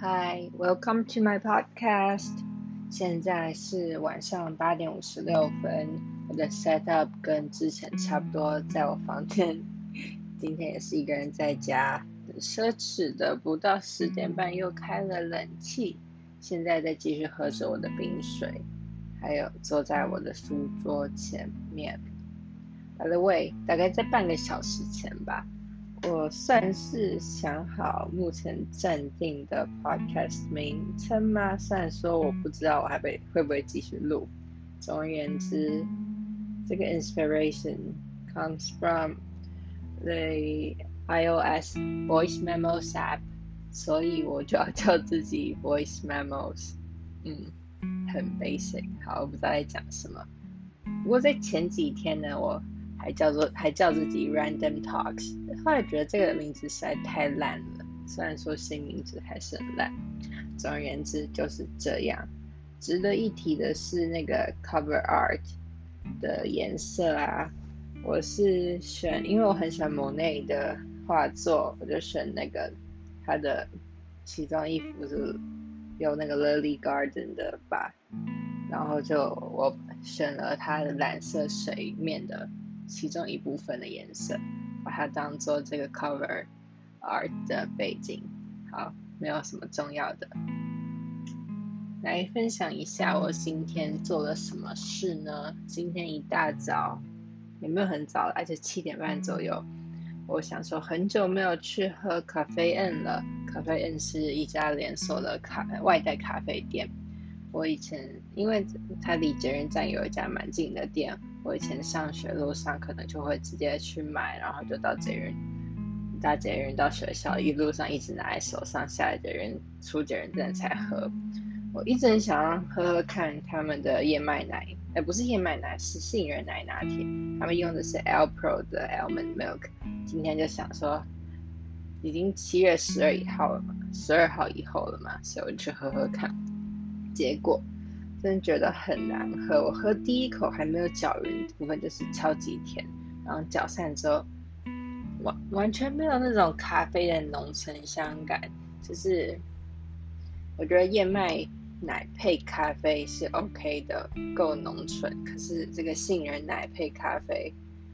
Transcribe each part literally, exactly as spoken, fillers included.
Hi, welcome to my podcast. 现在是晚上八点五十六分，我的 setup 跟之前差不多，在我房间。今天也是一个人在家，很奢侈的，不到十点半又开了冷气。现在再继续喝着我的冰水，还有坐在我的书桌前面。By the way， 大概在半个小时前吧。我算是想好目前暂定的 podcast 名称吗？虽然说我不知道我还会会不会继续录。总而言之，这个 inspiration comes from the iOS voice memos app， 所以我就要叫自己 voice memos。嗯，很 basic， 好，我不知道在讲什么。不过在前几天呢，我还叫做还叫自己 Random Talks， 后来觉得这个名字实在太烂了，虽然说新名字还是很烂。总而言之就是这样。值得一提的是那个 cover art 的颜色啊，我是选，因为我很喜欢 Monet 的画作，我就选那个他的西装衣服是有那个 Lily Garden 的吧，然后就我选了它的蓝色水面的其中一部分的颜色，把它当做这个 cover art 的背景。好，没有什么重要的。来分享一下我今天做了什么事呢？今天一大早，也没有很早，而且七点半左右，我想说很久没有去喝咖啡 N 了。咖啡 N 是一家连锁的咖外带咖啡店。我以前因为它离捷运站有一家蛮近的店，我以前上学路上可能就会直接去买，然后就到捷运搭捷运到学校，一路上一直拿在手上，下来捷运出捷运站才喝。我一直很想要喝喝看他们的燕麦奶，呃不是燕麦奶，是杏仁奶拿铁，他们用的是 Alpro 的 Almond Milk。今天就想说，已经七月十二号了嘛，十二号以后了嘛，所以我就去喝喝看。结果真的觉得很难喝，我喝第一口还没有搅匀部分就是超级甜，然后搅散之后完完全没有那种咖啡的浓醇香感，就是我觉得燕麦奶配咖啡是 OK 的，够浓醇，可是这个杏仁奶配咖啡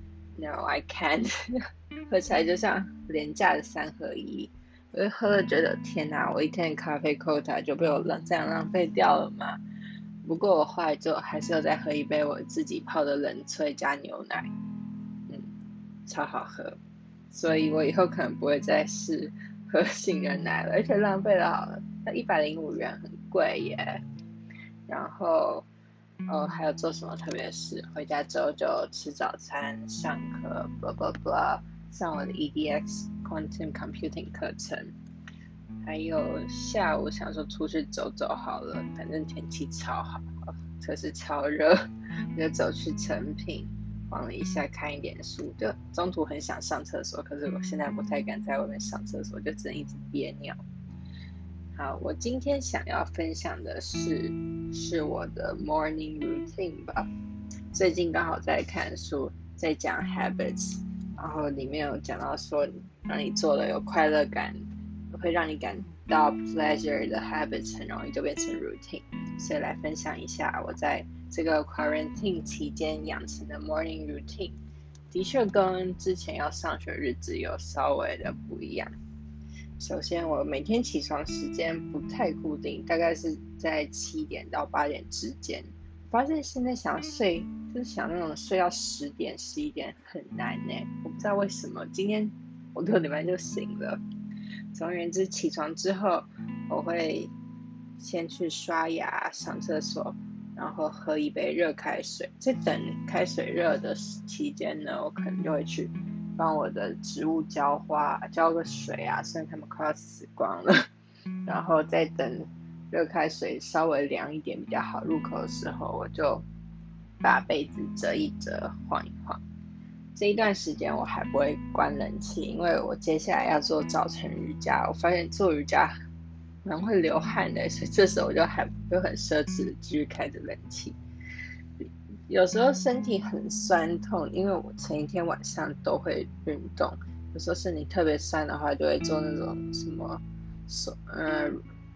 No I can't 喝起来就像廉价的三合一。我就喝了觉得天哪，我一天的咖啡 quota 就被我这样浪费掉了嘛。不过我后来就还是有再喝一杯我自己泡的冷萃加牛奶，嗯，超好喝。所以我以后可能不会再试喝杏仁奶了，而且浪费了一百零五元，很贵耶。然后哦，还有做什么特别事？回家之后就吃早餐、上课 ，blah blah blah， 上我的 E D X Quantum Computing 课程。还有下午想说出去走走好了，反正天气超好，可是超热，我就走去诚品晃了一下，看一点书。就中途很想上厕所，可是我现在不太敢在外面上厕所，就只能一直憋尿。好，我今天想要分享的是是我的 morning routine 吧。最近刚好在看书，在讲 habits， 然后里面有讲到说，让你做了有快乐感，会让你感到 pleasure 的 habits 很容易就变成 routine， 所以来分享一下我在这个 quarantine 期间养成的 morning routine， 的确跟之前要上学日子有稍微的不一样。首先我每天起床时间不太固定，大概是在七点到八点之间。发现现在想睡，就是想那种睡到十点十一点很难耶，我不知道为什么。今天我六点半就醒了。总而言之，起床之后我会先去刷牙、上厕所，然后喝一杯热开水。在等开水热的期间呢，我可能就会去帮我的植物浇花，浇个水啊，虽然它们快要死光了。然后再等热开水稍微凉一点比较好入口的时候，我就把被子折一折，晃一晃。这一段时间我还不会关冷气，因为我接下来要做早晨瑜伽。我发现做瑜伽蛮会流汗的，所以这时候我就还就很奢侈的继续开着冷气。有时候身体很酸痛，因为我前一天晚上都会运动，有时候身体特别酸的话，就会做那种什么手呃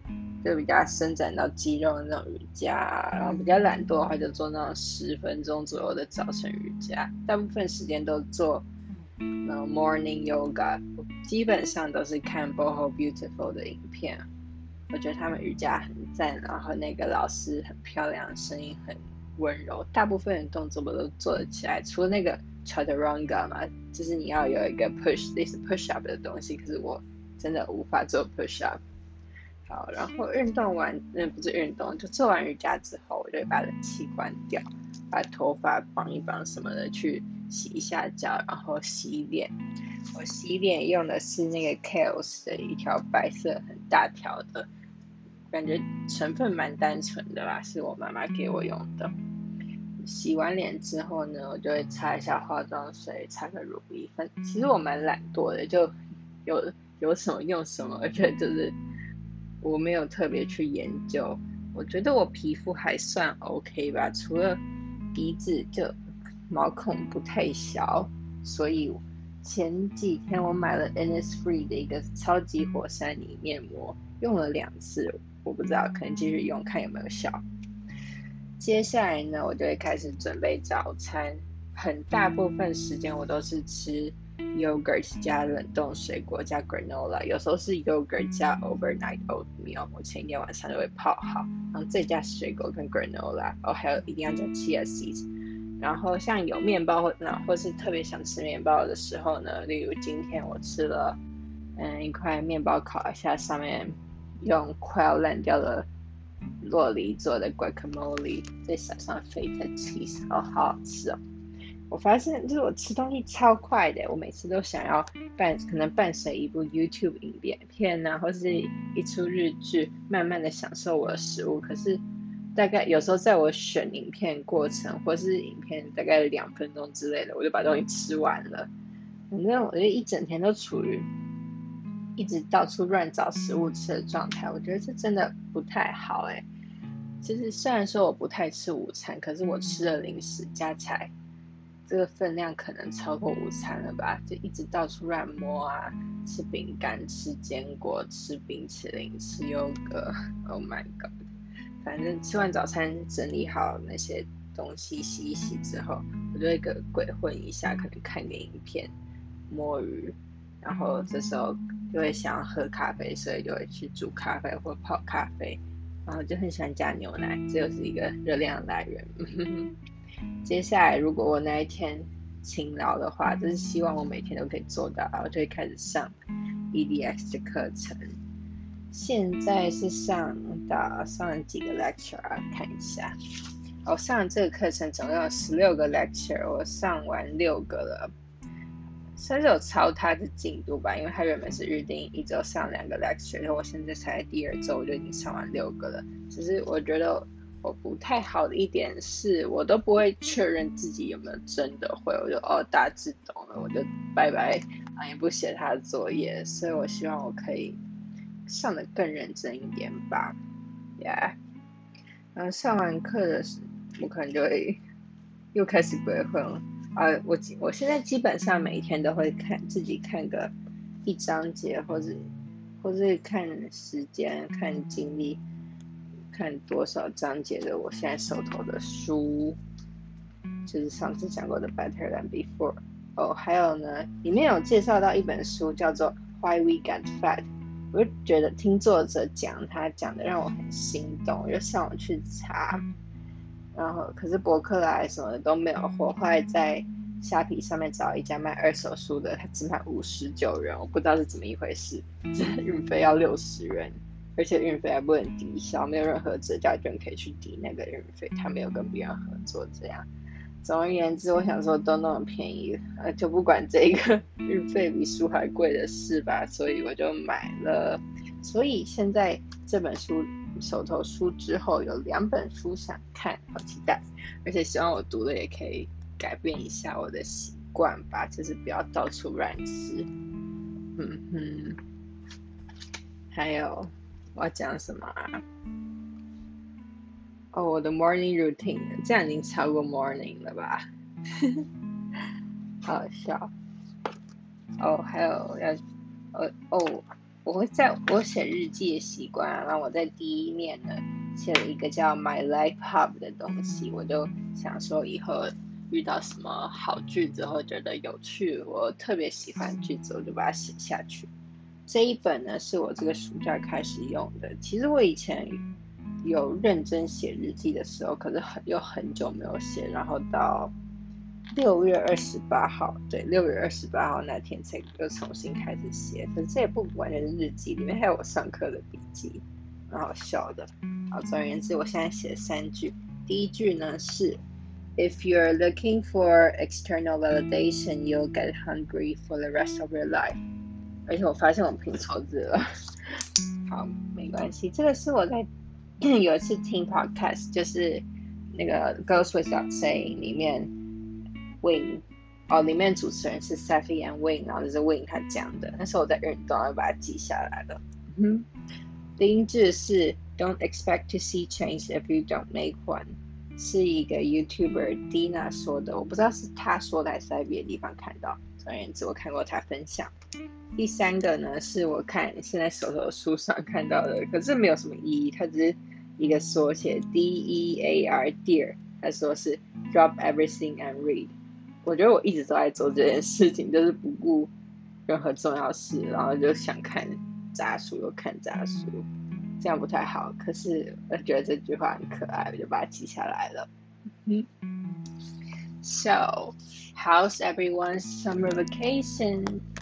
就比较伸展到肌肉的那种瑜伽，然后比较懒惰的话就做那种十分钟左右的早晨瑜伽，大部分时间都做那种 morning yoga， 基本上都是看 Boho Beautiful 的影片，我觉得他们瑜伽很赞，然后那个老师很漂亮，声音很温柔，大部分的动作我都做得起来，除了那个 chaturanga 嘛，就是你要有一个 push 类似 push up 的东西，可是我真的无法做 push up。好，然后运动完，嗯，不是运动，就做完瑜伽之后，我就会把冷气关掉，把头发绑一绑什么的，去洗一下脚，然后洗脸。我洗脸用的是那个 Kiehl's 的一条白色很大条的，感觉成分蛮单纯的啦，是我妈妈给我用的。洗完脸之后呢，我就会擦一下化妆水，擦个乳液粉。其实我蛮懒惰的，就有有什么用什么，我觉得就是我没有特别去研究。我觉得我皮肤还算 OK 吧，除了鼻子就毛孔不太小，所以前几天我买了 Innisfree 的一个超级火山泥面膜，用了两次，我不知道，可能继续用看有没有效。接下来呢，我就会开始准备早餐，很大部分时间我都是吃 yogurt 加冷冻水果加 granola， 有时候是 yogurt 加 overnight oatmeal， 我前一天晚上就会泡好，然后再加水果跟 granola， 哦，还有一定要加 chia seeds。然后像有面包或或是特别想吃面包的时候呢，例如今天我吃了嗯一块面包烤一下，上面用快要烂掉的酪梨做的 guacamole， 再撒上 feta cheese， 哦，好好吃哦。我发现就是我吃东西超快的，我每次都想要伴可能伴随一部 YouTube 影片啊，或是一出日剧，慢慢的享受我的食物。可是大概有时候在我选影片过程，或是影片大概两分钟之类的，我就把东西吃完了。反正我就一整天都处于一直到处乱找食物吃的状态，我觉得这真的不太好哎。其实虽然说我不太吃午餐，可是我吃的零食加起来，这个分量可能超过午餐了吧？就一直到处乱摸啊，吃饼干、吃坚果、吃冰淇淋、吃优格 ，Oh my god！ 反正吃完早餐整理好那些东西洗一洗之后，我就会个鬼混一下，可能看个影片、摸鱼，然后这时候就会想要喝咖啡，所以就会去煮咖啡或泡咖啡，然后就很喜欢加牛奶，这又是一个热量来源。接下来如果我那一天勤劳的话，就是希望我每天都可以做到，我就会开始上 E D X 的课程。现在是上到上了几个 lecture 啊，看一下。我上了这个课程总共有十六个 lecture， 我上完六个了，算是有超他的进度吧，因为他原本是预定一周上两个 lecture， 然后我现在才第二周我就已经上完六个了。只是我觉得我不太好的一点是，我都不会确认自己有没有真的会，我就哦大致懂了，我就拜拜，啊也不写他的作业，所以我希望我可以上得更认真一点吧 ，Yeah。然后上完课的时候，我可能就会又开始鬼混了。啊，我我现在基本上每一天都会看自己看个一章节，或者或是看时间、看精力，看多少章节的我现在手头的书，就是上次讲过的 Better Than Before。哦，还有呢，里面有介绍到一本书叫做 Why We Get Fat。我就觉得听作者讲，他讲的让我很心动，我就上网去查，然后可是博客来什么的都没有货，后来在虾皮上面找一家卖二手书的，他只卖五十九元，我不知道是怎么一回事，运费要六十元，而且运费还不能抵消，没有任何折价券可以去抵那个运费，他没有跟别人合作这样。总而言之，我想说都那么便宜，呃，就不管这个运费比书还贵的事吧，所以我就买了。所以现在这本书手头书之后有两本书想看，好期待！而且希望我读了也可以改变一下我的习惯吧，就是不要到处乱吃。嗯哼，还有我要讲什么啊？哦，我的 morning routine， 这样已经超过 morning 了吧？好笑。哦，还有要，呃，哦， 我会在我写日记的习惯啊，然后我在第一面呢写了一个叫 My Life Hub 的东西，我就想说以后遇到什么好句子或觉得有趣，我特别喜欢句子，我就把它写下去。这一本呢是我这个暑假开始用的。其实我以前有认真写日记的时候，可是很有很久没有写，然后到六月二十八号，对，六月二十八号那天才又重新开始写。可是这也不完全是日记，里面还有我上课的笔记，蛮好笑的。好，总而言之，我现在写了三句。第一句呢是 If you're looking for external validation, you'll get hungry for the rest of your life. 而且我发现我拼错字了。好，没关系。这个是我在有一次听 podcast， 就是那个 Goes Without Saying 里面 Wing 哦，里面主持人是 Safi and Wing， 然后就是 Wing 他讲的。那时候我在运动，我把它记下来了。嗯，第一句是 Don't expect to see change if you don't make one， 是一个 YouTuber Dina 说的，我不知道是他说的还是在别的地方看到。总而言之，我看过他分享。第三个呢，是我看现在手头的书上看到的，可是没有什么意义，它只是一个缩写 D E A R Dear， 他说是 Drop everything and read。 我觉得我一直都在做这件事情，就是不顾任何重要事，然后就想看杂书就看杂书，这样不太好，可是我觉得这句话很可爱，我就把它记下来了。嗯 So, how's everyone's summer vacation?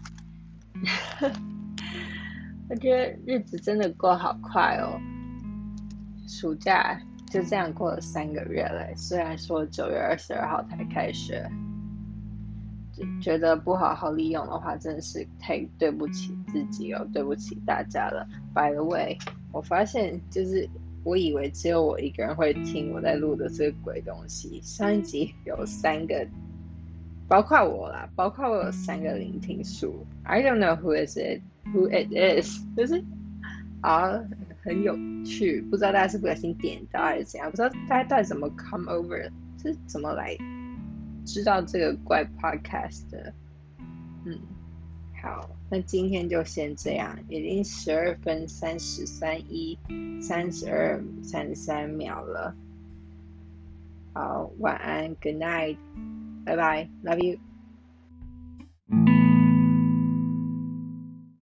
我觉得日子真的过好快哦，暑假就这样过了三个月了，虽然说九月二十二号才开学，觉得不好好利用的话，真的是太对不起自己哦，对不起大家了。By the way， 我发现就是我以为只有我一个人会听我在录的这个鬼东西，上一集有三个。包括我啦，包括我有三个聆听数 ，I don't know who is it, who it is， 就是啊，很有趣，不知道大家是不小心点到还是怎样，不知道大家到底怎么 come over， 是怎么来知道这个怪 podcast 的。嗯，好，那今天就先这样，已经十二分三十三一三十二三十三秒了。好，晚安 ，Good night。拜拜 ，Love you。